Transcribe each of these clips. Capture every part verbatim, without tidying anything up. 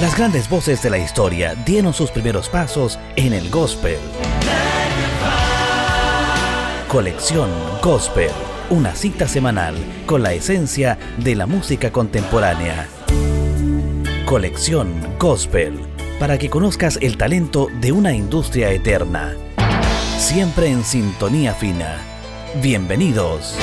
Las grandes voces de la historia dieron sus primeros pasos en el gospel. Colección Gospel, una cita semanal con la esencia de la música contemporánea. Colección Gospel, para que conozcas el talento de una industria eterna. Siempre en sintonía fina. Bienvenidos.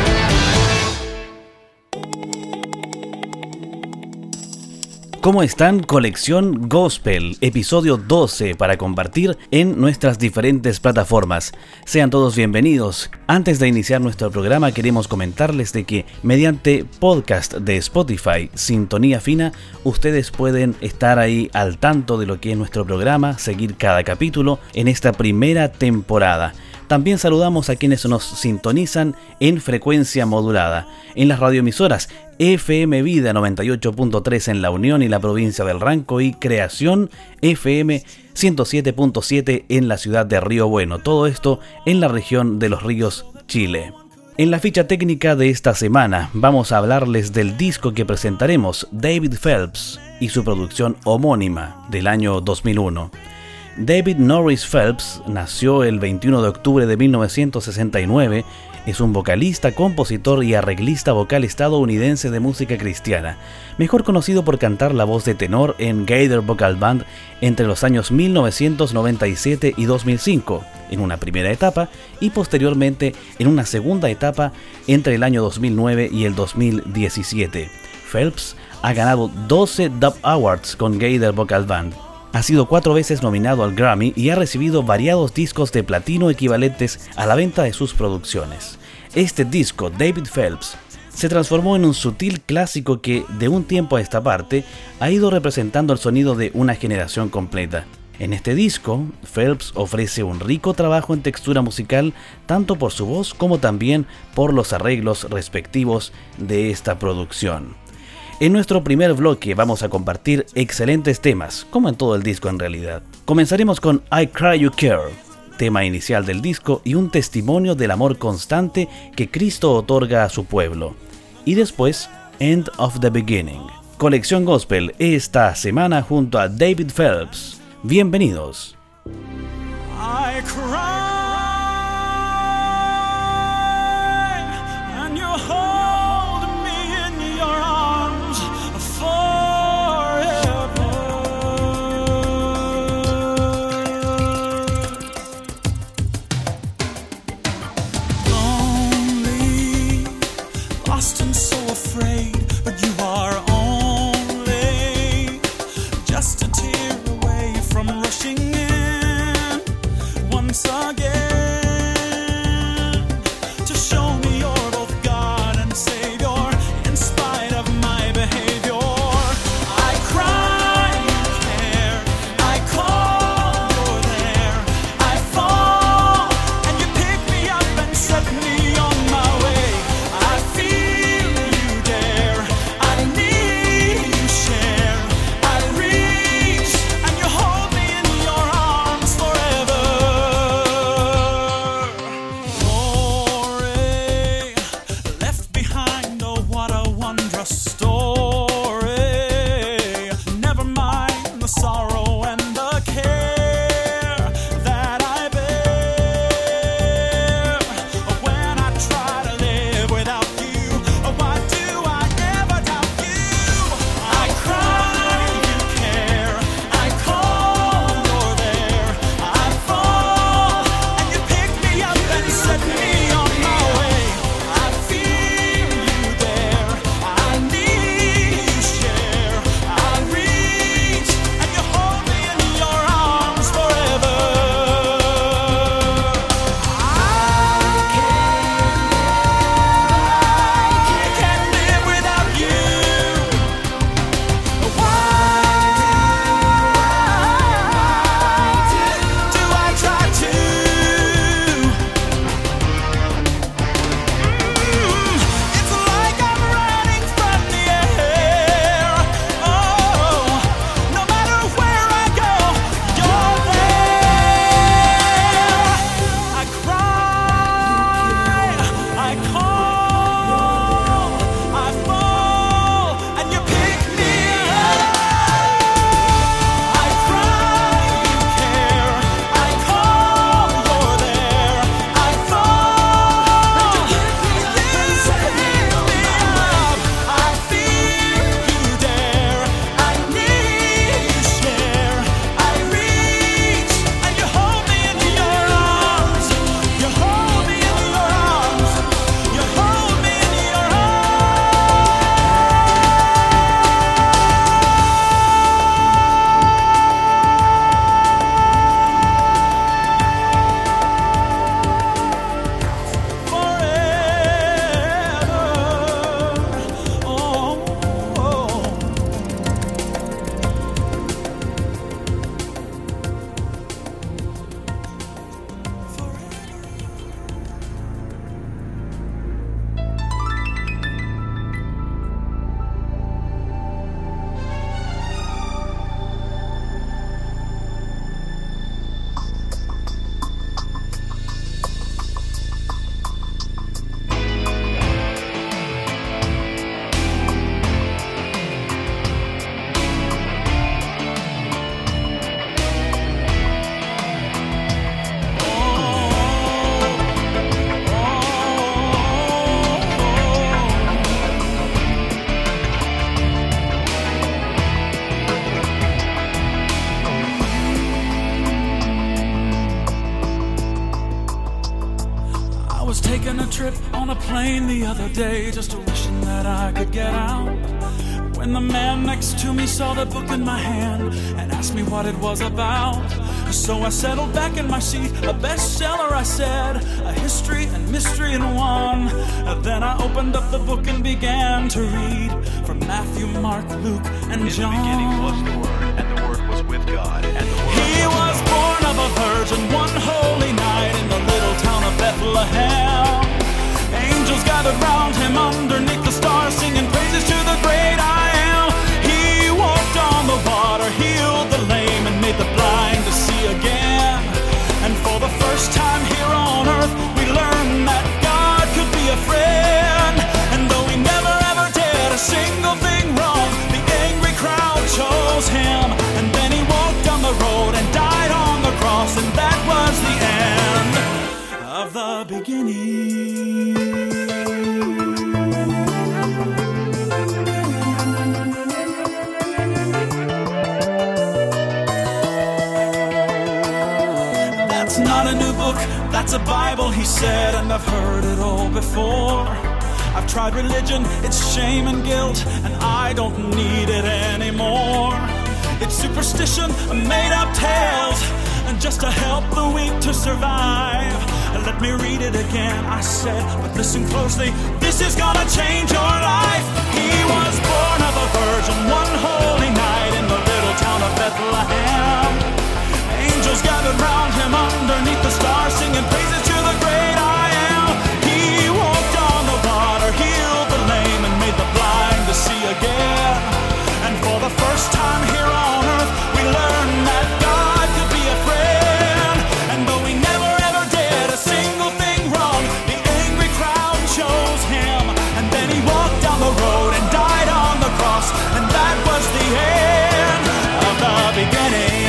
¿Cómo están? Colección Gospel, episodio doce para compartir en nuestras diferentes plataformas. Sean todos bienvenidos. Antes de iniciar nuestro programa queremos comentarles de que mediante podcast de Spotify, Sintonía Fina, ustedes pueden estar ahí al tanto de lo que es nuestro programa, seguir cada capítulo en esta primera temporada. También saludamos a quienes nos sintonizan en frecuencia modulada, en las radioemisoras F M Vida noventa y ocho punto tres en La Unión y la provincia del Ranco y Creación F M ciento siete punto siete en la ciudad de Río Bueno, todo esto en la región de Los Ríos, Chile. En la ficha técnica de esta semana vamos a hablarles del disco que presentaremos, David Phelps, y su producción homónima del año dos mil uno. David Norris Phelps nació el veintiuno de octubre de mil novecientos sesenta y nueve, es un vocalista, compositor y arreglista vocal estadounidense de música cristiana, mejor conocido por cantar la voz de tenor en Gaither Vocal Band entre los años mil novecientos noventa y siete y dos mil cinco, en una primera etapa, y posteriormente en una segunda etapa entre el año dos mil nueve y el dos mil diecisiete. Phelps ha ganado doce Dove Awards con Gaither Vocal Band. Ha sido cuatro veces nominado al Grammy y ha recibido variados discos de platino equivalentes a la venta de sus producciones. Este disco, David Phelps, se transformó en un sutil clásico que, de un tiempo a esta parte, ha ido representando el sonido de una generación completa. En este disco, Phelps ofrece un rico trabajo en textura musical, tanto por su voz como también por los arreglos respectivos de esta producción. En nuestro primer bloque vamos a compartir excelentes temas, como en todo el disco en realidad. Comenzaremos con I Cry You Care, tema inicial del disco y un testimonio del amor constante que Cristo otorga a su pueblo. Y después, End of the Beginning. Colección Gospel esta semana junto a David Phelps. Bienvenidos. I cry and you hold me in your arms forever. Lonely, lost and so afraid, but you are only just a tear away from rushing in once again. plane the other day, just wishing that I could get out, when the man next to me saw the book in my hand and asked me what it was about. So I settled back in my seat, a bestseller, I said, a history and mystery in one. Then I opened up the book and began to read from Matthew, Mark, Luke, and John. In the beginning was the Word, and the Word was with God, and the Word He was was born of a virgin one holy night in the little town of Bethlehem. Angels gathered round him underneath the stars, singing praises to the great I am. He walked on the water, healed the lame, and made the blind to see again. And for the first time here on earth, we learned that God could be a friend. And though he never ever did a single thing wrong, the angry crowd chose him. And then he walked down the road and died on the cross, and that was the end of the beginning. Not a new book, that's a Bible, he said, and I've heard it all before. I've tried religion, it's shame and guilt, and I don't need it anymore. It's superstition, made up tales, and just to help the weak to survive. Let me read it again, I said, but listen closely, this is gonna change your life. He was born of a virgin one holy night in the little town of Bethlehem. Angels gathered round him underneath the stars, singing praises to the great I am. He walked on the water, healed the lame, and made the blind to see again. And for the first time here on earth, we learned that God could be a friend. And though he never ever did a single thing wrong, the angry crowd chose him. And then he walked down the road and died on the cross, and that was the end of the beginning.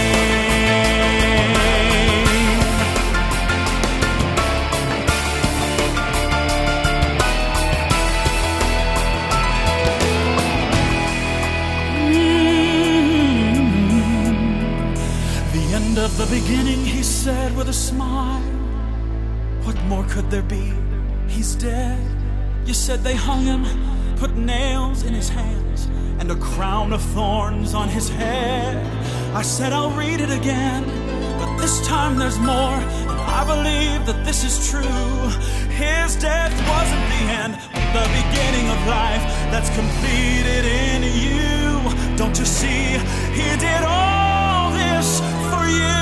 Of the beginning, he said with a smile, what more could there be? He's dead. You said they hung him, put nails in his hands, and a crown of thorns on his head. I said I'll read it again, but this time there's more, and I believe that this is true. His death wasn't the end, but the beginning of life that's completed in you. Don't you see, he did all this for you.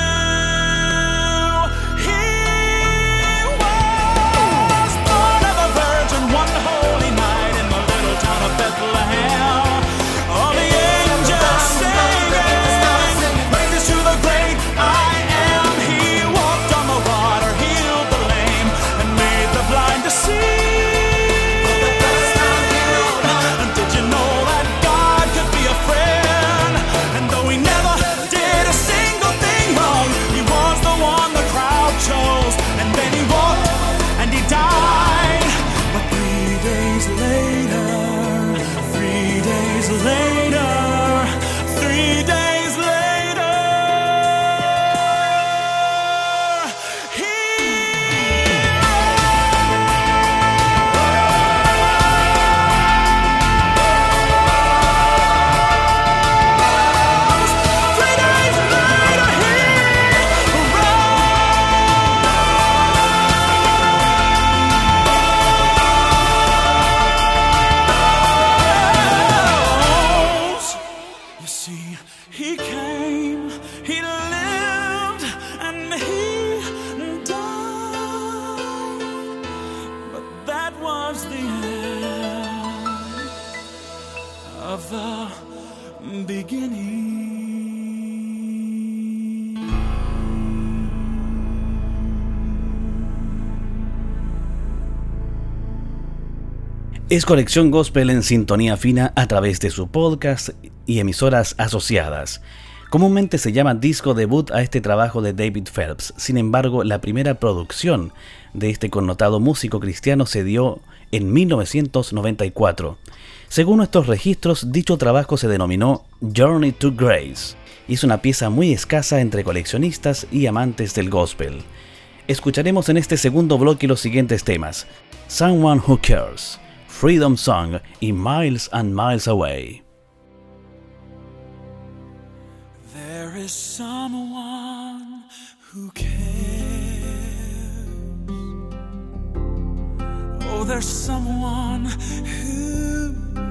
He was born of a virgin one holy night in the little town of Bethlehem. All the angels singing praises to the great I am. He walked on the water, healed the lame, and made the blind to see. And did you know that God could be a friend? And though he never did a single thing wrong, he was the one the crowd chose. And then he walked and he died. But three days later, three days later, three days later, he He came, he lived, and he died. But that was the end of the beginning. Es Conexión Gospel en sintonía fina a través de su podcast y emisoras asociadas. Comúnmente se llama disco debut a este trabajo de David Phelps. Sin embargo, la primera producción de este connotado músico cristiano se dio en mil novecientos noventa y cuatro. Según nuestros registros, dicho trabajo se denominó Journey to Grace y es una pieza muy escasa entre coleccionistas y amantes del gospel. Escucharemos en este segundo bloque los siguientes temas: Someone Who Cares, Freedom Song y Miles and Miles Away. There is someone who cares. Oh, there's someone who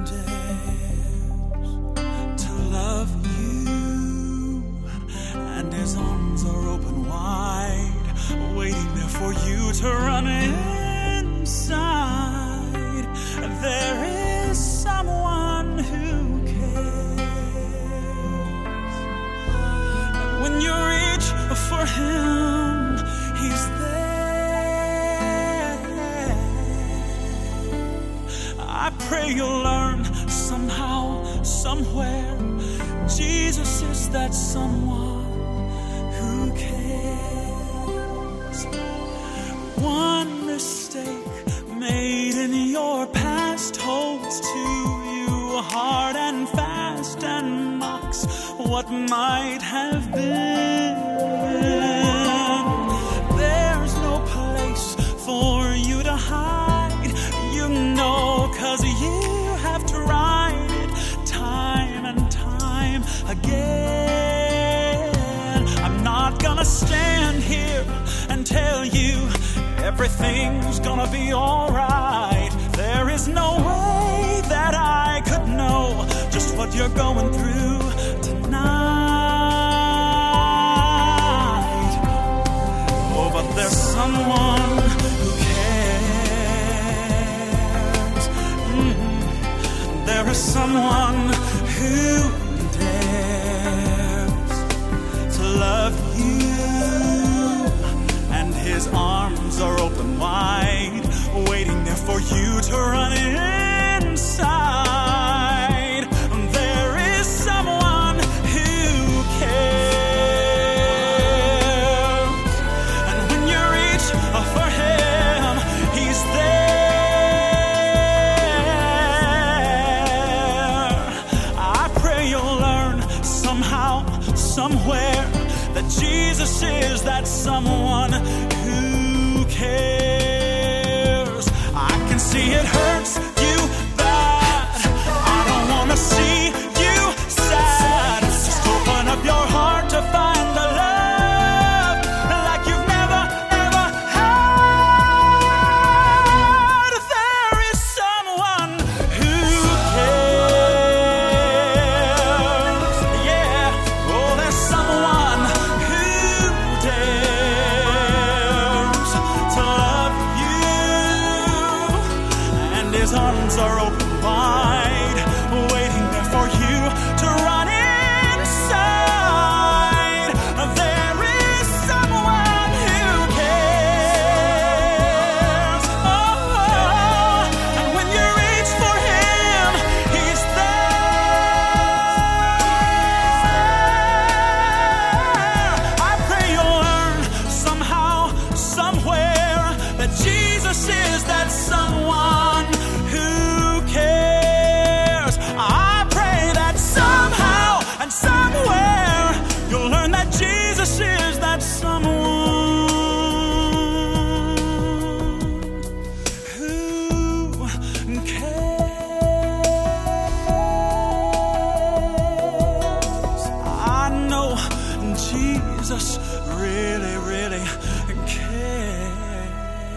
dares to love you, and his arms are open wide, waiting there for you to run inside. There is someone who cares. When you reach for him, he's there. I pray you'll learn somehow, somewhere, Jesus is that someone who cares. One mistake made in your past holds to you hard and fast and mocks what might have been. There's no place for you to hide, you know, 'cause you have tried it time and time again. I'm not gonna stand here and tell you everything's gonna be alright. There is no way that I could know just what you're going through tonight. Oh, but there's someone who cares. Mm-hmm. There is someone who dares to love you, and his arms are open wide, waiting there for you to run inside. There is someone who cares, and when you reach for him, he's there. I pray you'll learn somehow, somewhere, that Jesus is that someone who cares. I can see it hurts you bad. I don't want to see you sad. Just open up your heart to find the love like you've never, ever had. There is someone who cares. Yeah, oh, there's someone who dares to love you, and his arms are open wide, waiting there for you to run inside. There is someone who cares. Oh, and when you reach for him, he's there. I pray you'll learn somehow, somewhere, that Jesus is that someone who cares. I pray that somehow and somewhere you'll learn that Jesus is that someone who cares. I know Jesus really, really cares.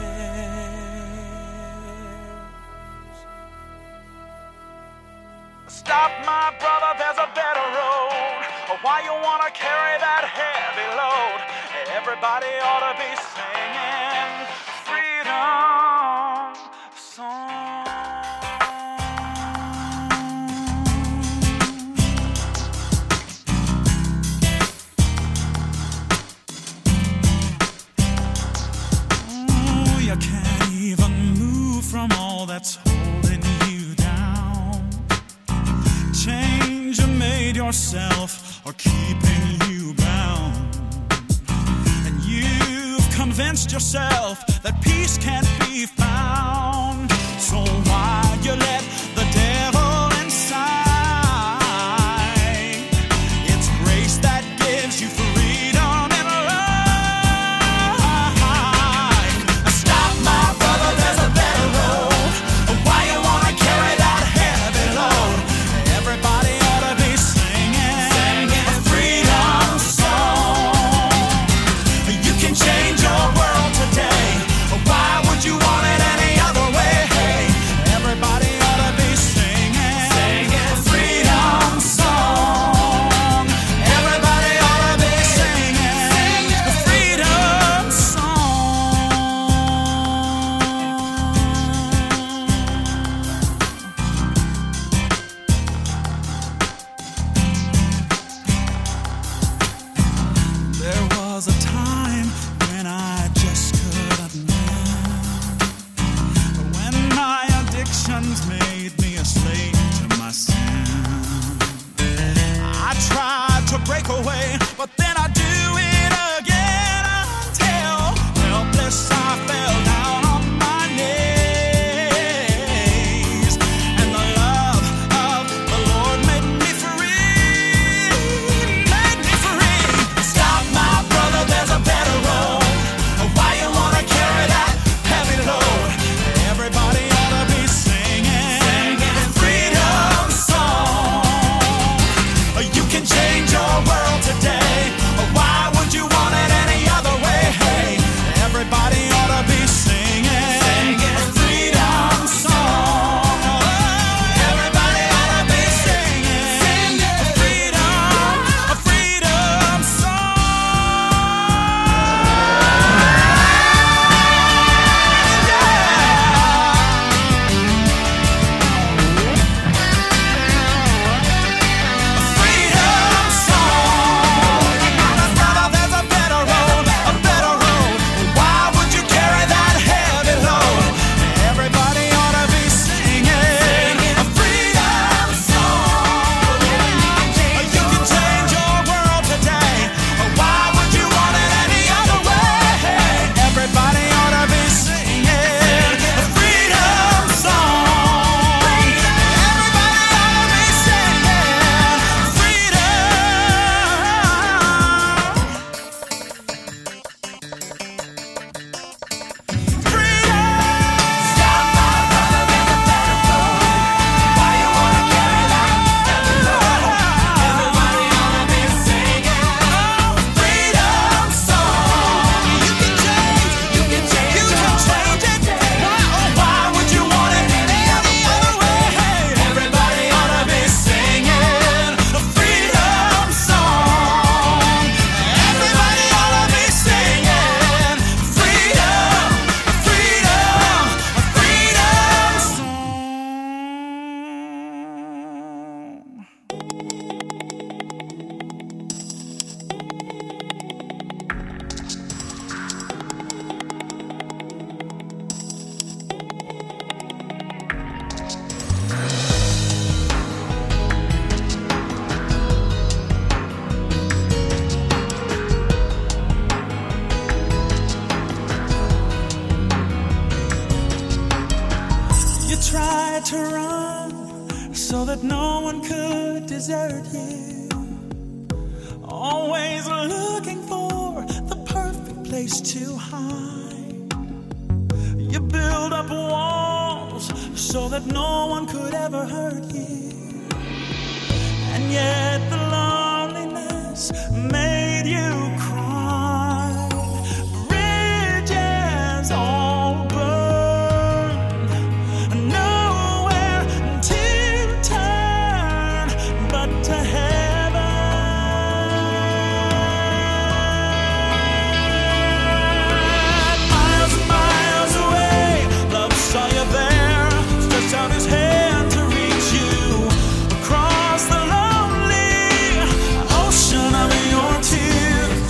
Stop, my brother, there's a better road. Why you wanna carry that heavy load? Everybody ought to be singing freedom song. Ooh, you can't even move from all that's holding you down. Change you made yourself or keeping you bound, and you've convinced yourself that peace can't be found. So why you let the devil inside? It's grace that gives you freedom and life. Stop, my brother, there's a better he's made me a slave to my sin. I tried to break away, but then I do it again until helpless I fell down on my knees, and the love of the Lord made me free, made me free. Stop, my brother, there's a better road. Why you wanna carry that heavy load? Everybody ought to be singing, singing freedom song. You can change your world today. Why would you want it any other way? Hey, everybody ought to be singing, singing freedom song. Everybody ought to be singing, singing freedom, a freedom song. Freedom song. Brother, there's a better road, a better road. Why would you carry that heavy load? Everybody ought to be singing a freedom song. You can change your world today. Why would you want it any other way? Everybody ought to be singing a freedom song. Everybody ought to be singing freedom. Freedom. Stop, my brother, there's a better road. Why you wanna carry that heavy load? Everybody ought to be singing freedom song. You can change, you can change, you can change it. Why, oh, why would you want it any other way? Everybody ought to be singing a freedom song. Everybody ought to be singing freedom, freedom, freedom song. You tried to run so that no one could desert you. Always looking for the perfect place to hide. You build up walls so that no one could ever hurt you. And yet the loneliness made you cry. Bridges all burned, nowhere to turn but to heaven. Miles and miles away, love saw you there, stretched out his hand to reach you across the lonely ocean of your tears.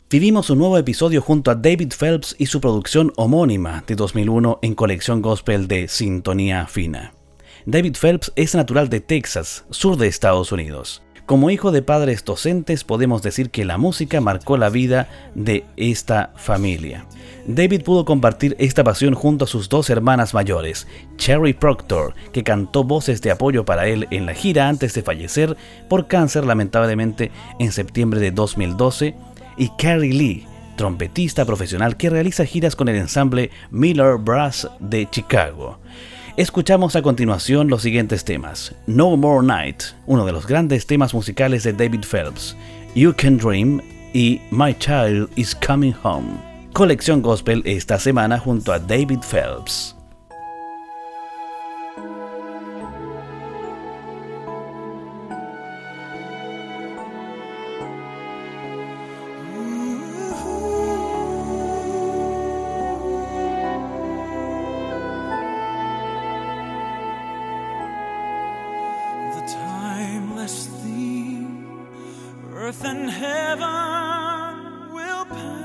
Vivimos un nuevo episodio junto a David Phelps y su producción homónima de dos mil uno en Colección Gospel de Sintonía Fina. David Phelps es natural de Texas, sur de Estados Unidos. Como hijo de padres docentes, podemos decir que la música marcó la vida de esta familia. David pudo compartir esta pasión junto a sus dos hermanas mayores, Cherry Proctor, que cantó voces de apoyo para él en la gira antes de fallecer por cáncer lamentablemente en septiembre de dos mil doce, y Carrie Lee, trompetista profesional que realiza giras con el ensamble Miller Brass de Chicago. Escuchamos a continuación los siguientes temas: No More Night, uno de los grandes temas musicales de David Phelps, You Can Dream y My Child Is Coming Home. Colección Gospel esta semana junto a David Phelps. Earth and heaven will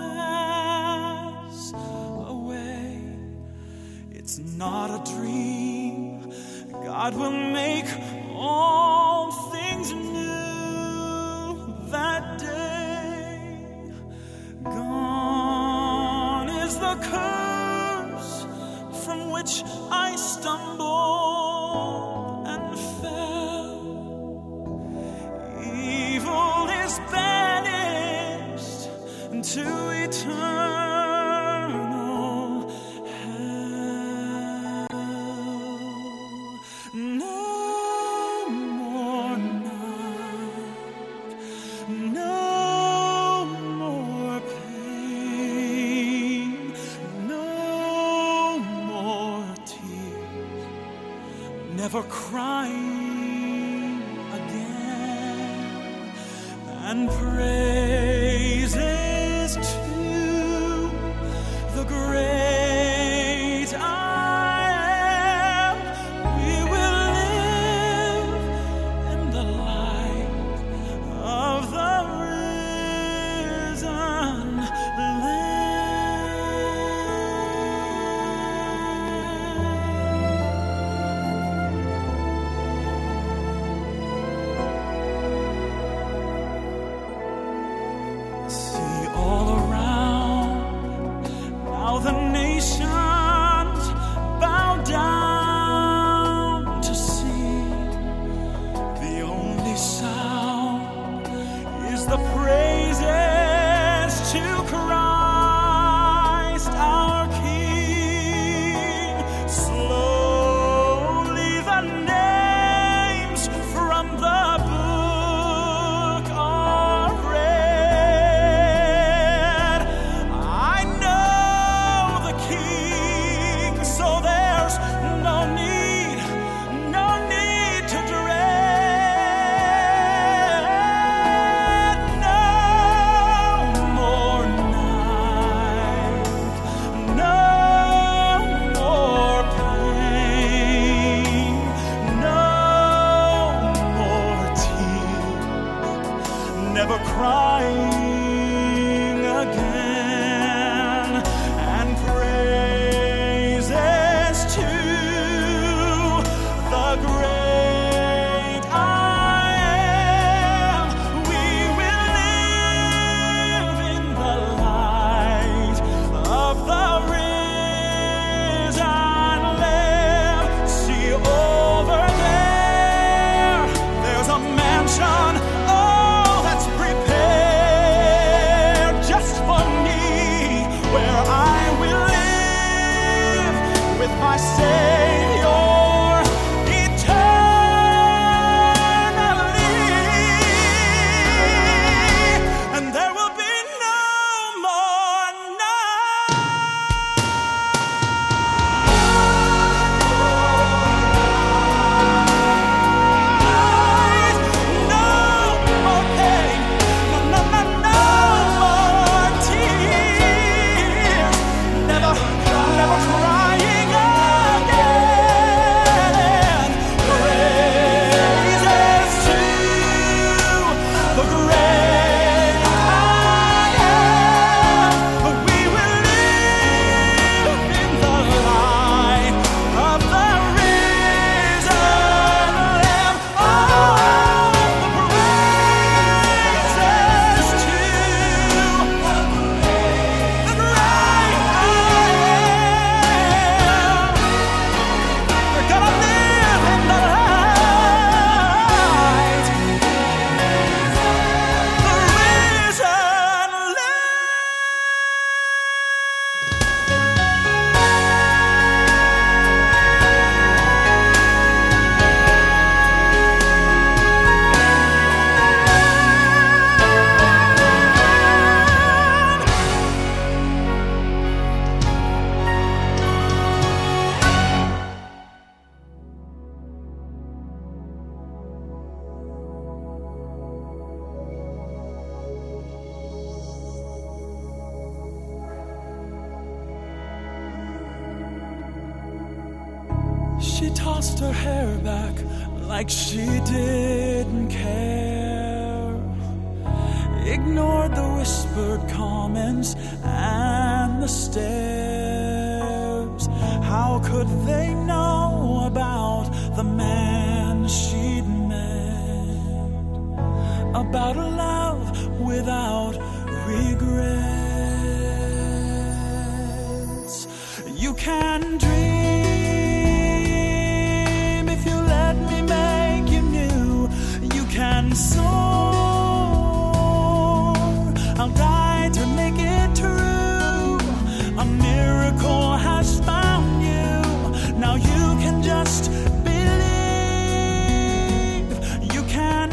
pass away. It's not a dream. God will make all things new that day. Gone is the curse from which I stumbled and fell. Evil is banished to eternal hell. No more night, no more pain, no more tears, never crying again. And praises to the great I am. We will live in the light of the risen the nations bow down to see. The only sound is the praises to Christ our King. Slowly the names from the book are read. I know so there's no need, no need to dread. No more night, no more pain, no more tears, never crying again. And praises to the great I am. We will live in the light of the risen Lamb. See over there, there's a mansion, oh, that's prepared just for me, where I will live with my Savior eternally, and there will be no more night, no she tossed her hair back like she didn't care, ignored the whispered comments and the stares. How could they know about the man she'd met, about a love without regrets? You can dream if you let me make you new. You can soar, I'll die to make it true. A miracle has found you, now you can just believe. You can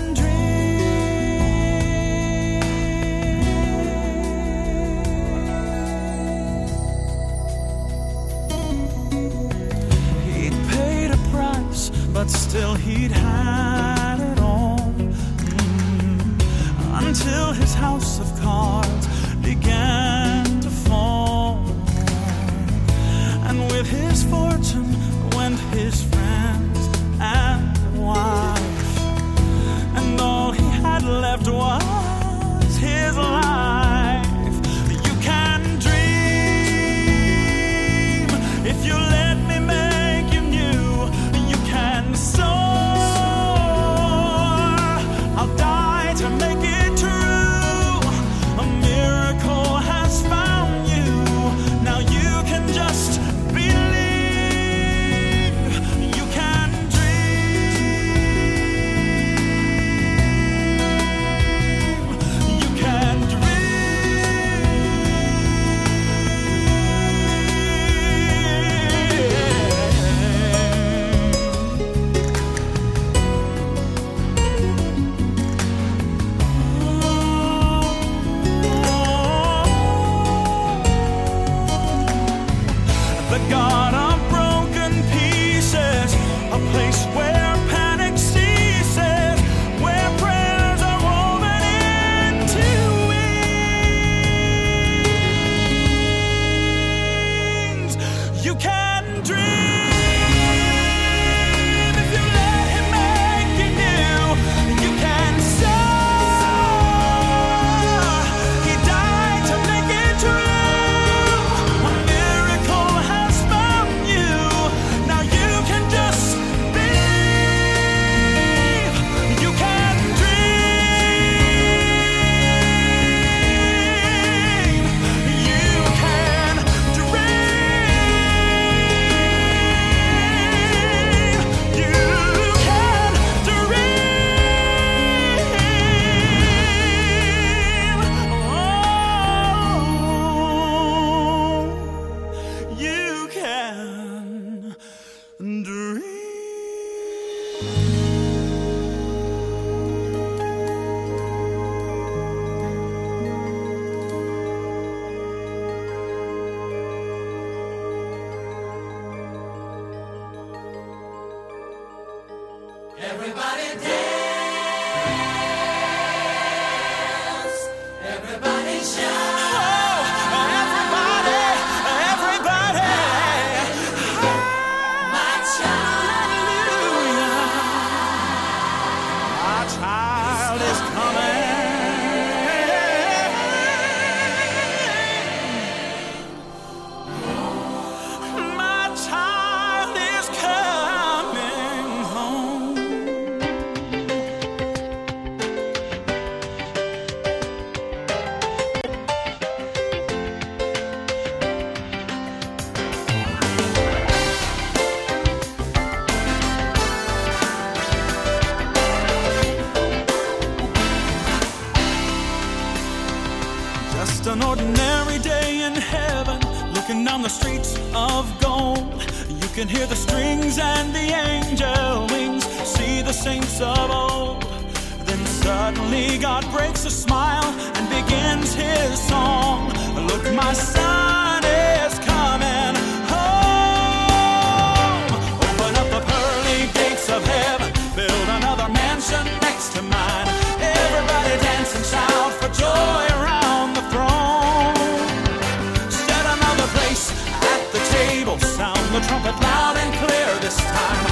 but still he'd had it all, mm, until his house of cards began to fall. And with his fortune went his friends and wife, and all he had left was his life. You can dream if you let me make you new. Soar, I'll die to make it true. A miracle has found you, now you can just believe. You can dream. You can God of broken pieces, a place where panic ceases, where prayers are woven into wings. You can dream if you let him make you new. You can soar, he died to make it true. Everybody dance, everybody shout, oh, everybody, everybody, my child, my child is coming, my child is coming home. Just an ordinary day in heaven, looking down the streets of gold. You can hear the strings and the angel wings, see the saints of old. Then suddenly God breaks a smile and begins his song. Look, my son is coming home. Open up the pearly gates of heaven, build another mansion next to mine. Everybody dance and shout for joy around the throne. Set another place at the table, sound the trumpet loud and clear this time.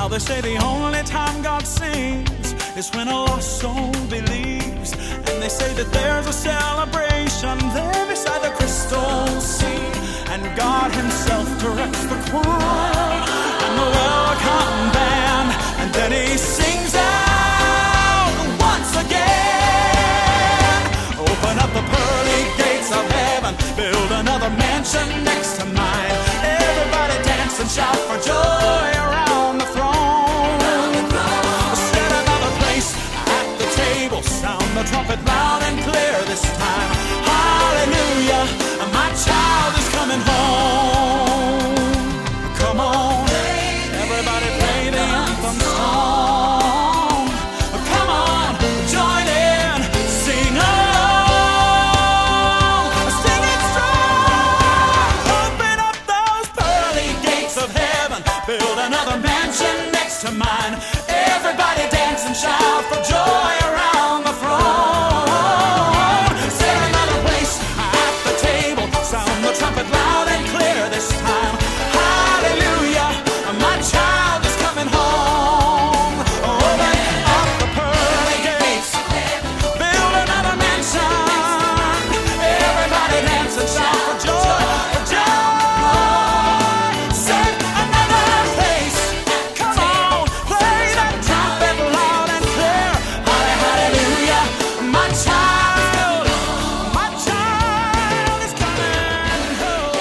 Well, they say the only time God sings is when a lost soul believes. And they say that there's a celebration there beside the crystal sea. And God himself directs the choir and the welcome band. And then he sings out once again. Open up the pearly gates of heaven, build another mansion next to mine. Everybody dance and shout for joy around the throne. Set another place at the table, sound the trumpet loud and clear this time. Hallelujah, my child is coming home. Come on, everybody play the anthem song. Come on, join in, sing along, sing it strong. Open up those pearly gates of heaven, build another mansion next to mine. Everybody dance and shout for joy around the throne. Set another place at the table, sound the trumpet loud and clear this time. Hallelujah, my child is coming home. Open up the pearly gates, build another mansion. Everybody dance and shout for joy, for joy. Set another place, come on, play that trumpet loud and clear. Hallelujah, my child, my child is coming home.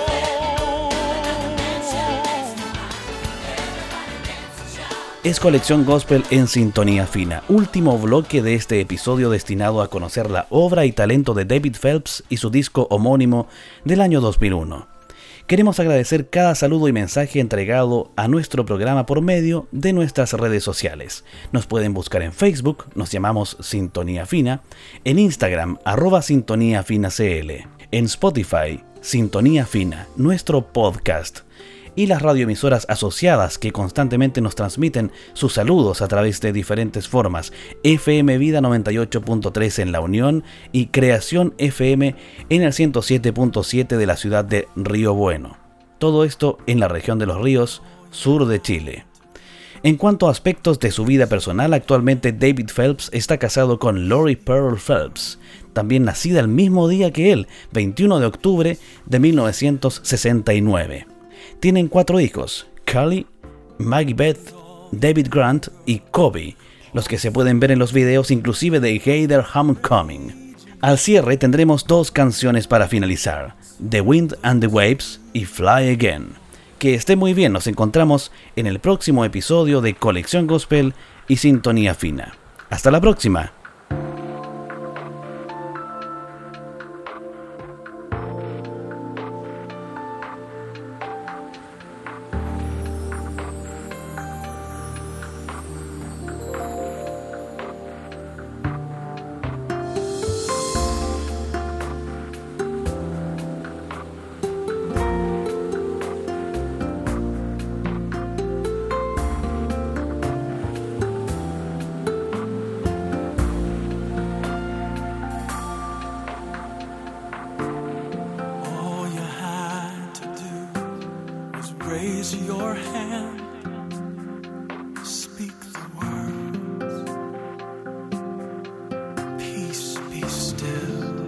Es Colección Gospel en Sintonía Fina, último bloque de este episodio destinado a conocer la obra y talento de David Phelps y su disco homónimo del año dos mil uno. Queremos agradecer cada saludo y mensaje entregado a nuestro programa por medio de nuestras redes sociales. Nos pueden buscar en Facebook, nos llamamos Sintonía Fina, en Instagram, arroba Sintonía Fina C L, en Spotify, Sintonía Fina, nuestro podcast, y las radioemisoras asociadas que constantemente nos transmiten sus saludos a través de diferentes formas: F M Vida noventa y ocho punto tres en La Unión y Creación F M en el ciento siete punto siete de la ciudad de Río Bueno. Todo esto en la región de Los Ríos, sur de Chile. En cuanto a aspectos de su vida personal, actualmente David Phelps está casado con Lori Pearl Phelps, también nacida el mismo día que él, veintiuno de octubre de mil novecientos sesenta y nueve. Tienen cuatro hijos: Carly, Maggie Beth, David Grant y Kobe, los que se pueden ver en los videos inclusive de Gator Homecoming. Al cierre tendremos dos canciones para finalizar: The Wind and the Waves y Fly Again. Que esté muy bien, nos encontramos en el próximo episodio de Colección Gospel y Sintonía Fina. Hasta la próxima. Raise your hand, speak the words, peace be still,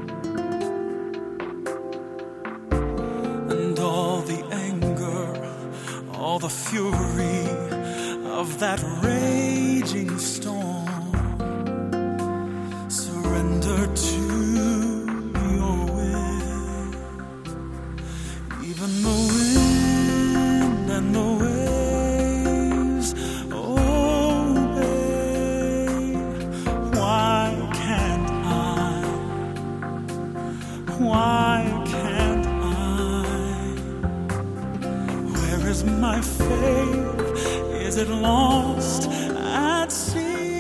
and all the anger, all the fury of that raging storm, surrender to your will. Even the wind and the waves obey. Why can't I? Why can't I? Where is my faith? Is it lost at sea?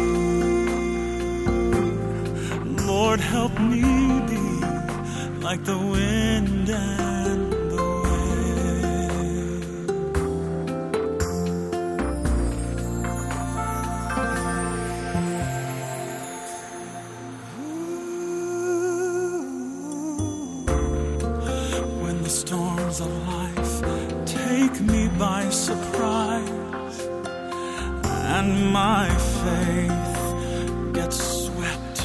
Lord, help me be like the wind and storms of life take me by surprise. and my faith gets swept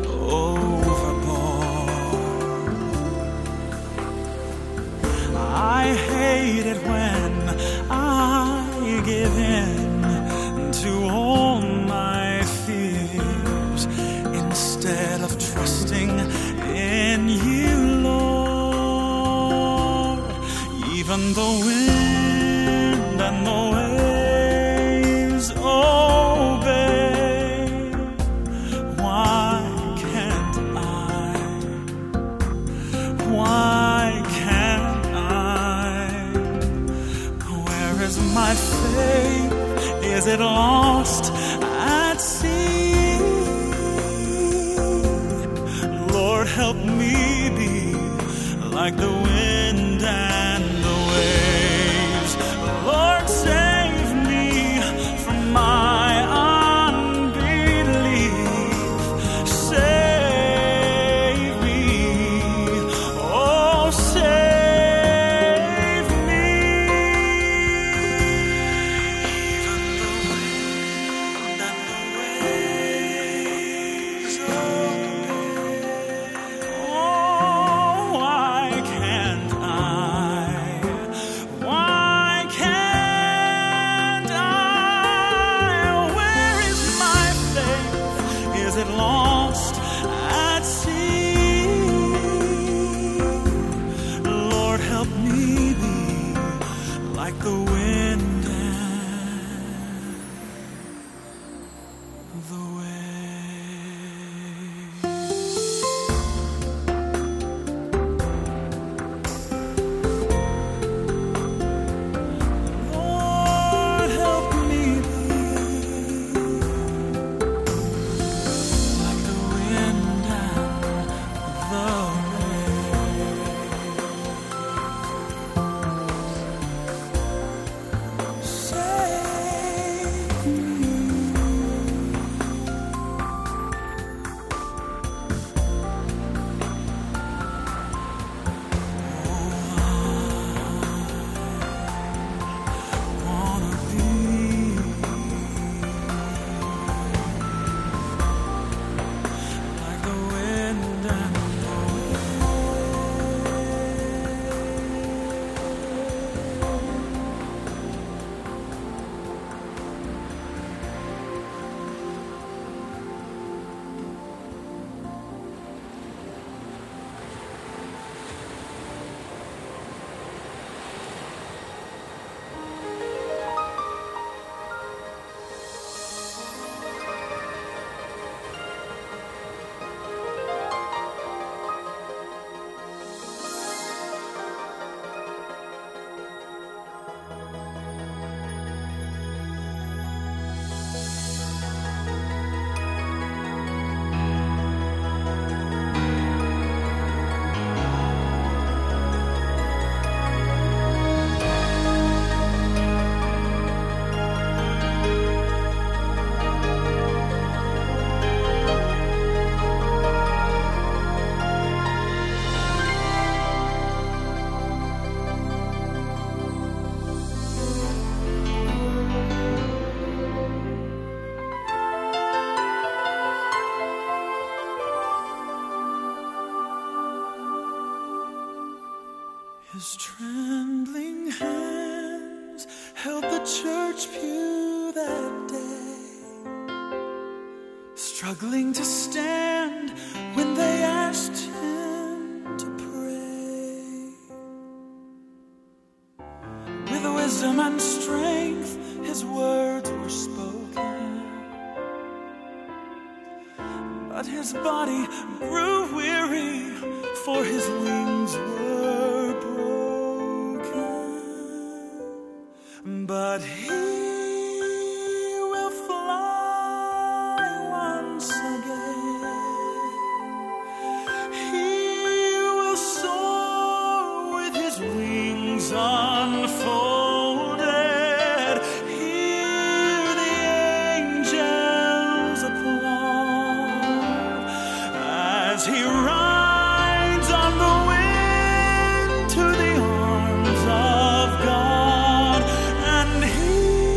overboard. I hate it when I give in to all my fears instead of trusting in you, Lord. Even the wind and the waves obey. Why can't I? Why can't I? Where is my faith? Is it lost at sea? Lord, help me be like the wind and the waves. Lord, save me from my unbelief. Save me, oh, save me. Even the wind and the waves obey. Oh, why can't I? Why can't I? Where is my faith? Is it lost at sea? Lord, help me be like the wind and the Lord, help me be like the wind and the waves. Save me. Wanna be like the wind and the His trembling hands held the church pew that day, struggling to stand when they asked him to pray. With wisdom and strength, his words were spoken, but his body grew weary, for his wings were broken. But he will fly once again. He will soar with his wings unfolded. Hear the angels applaud as he rides on the wind to the arms of God, and he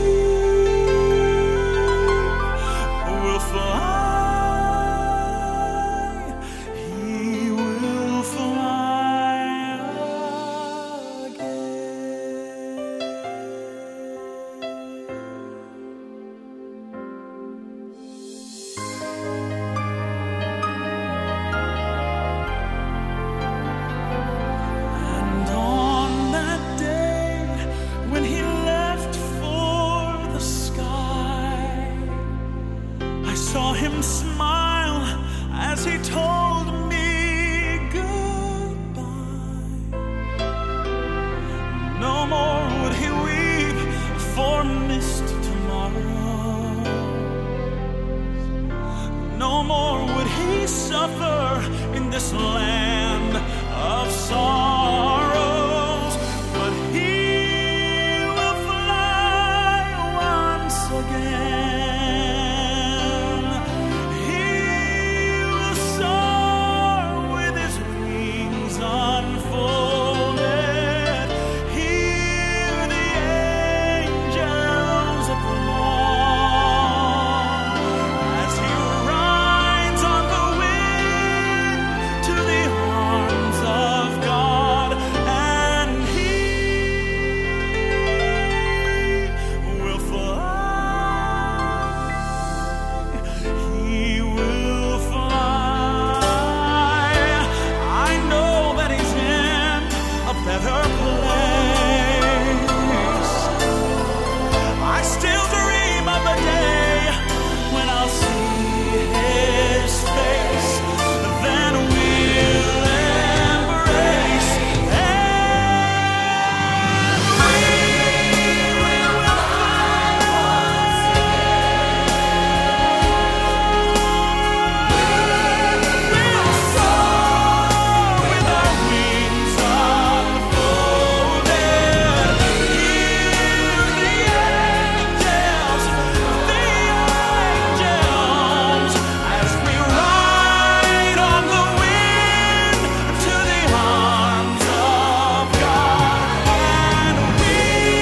and smile as he told me goodbye. No more would he weep for missed tomorrows. No more would he suffer in this land of sorrows. But he will fly once again. He will soar with his wings unfolded. Hear the angels applaud as he rides on the wind to the arms of God, and he will fly. He will fly. I know that he's in a better place. I still dream of the day when I'll see his face. Then we'll embrace, and we will fly once We'll soar with our wings unfolded. Hear the angels, the angels, as we ride on the wind to the arms of God, and we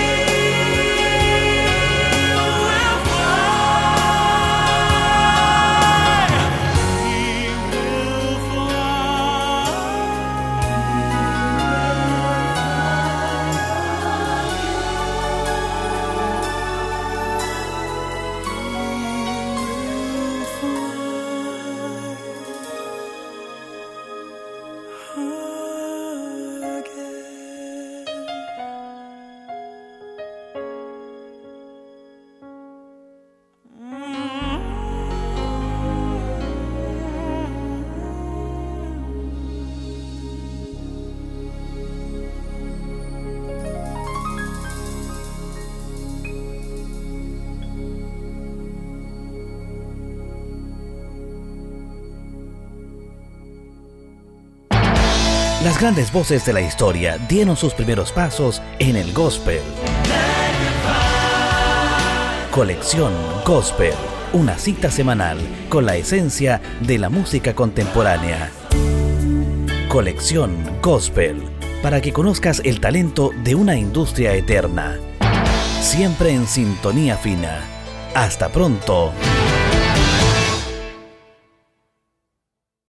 will fly. We will fly Las grandes voces de la historia dieron sus primeros pasos en el gospel. Colección Gospel, una cita semanal con la esencia de la música contemporánea. Colección Gospel, para que conozcas el talento de una industria eterna. Siempre en sintonía fina. Hasta pronto.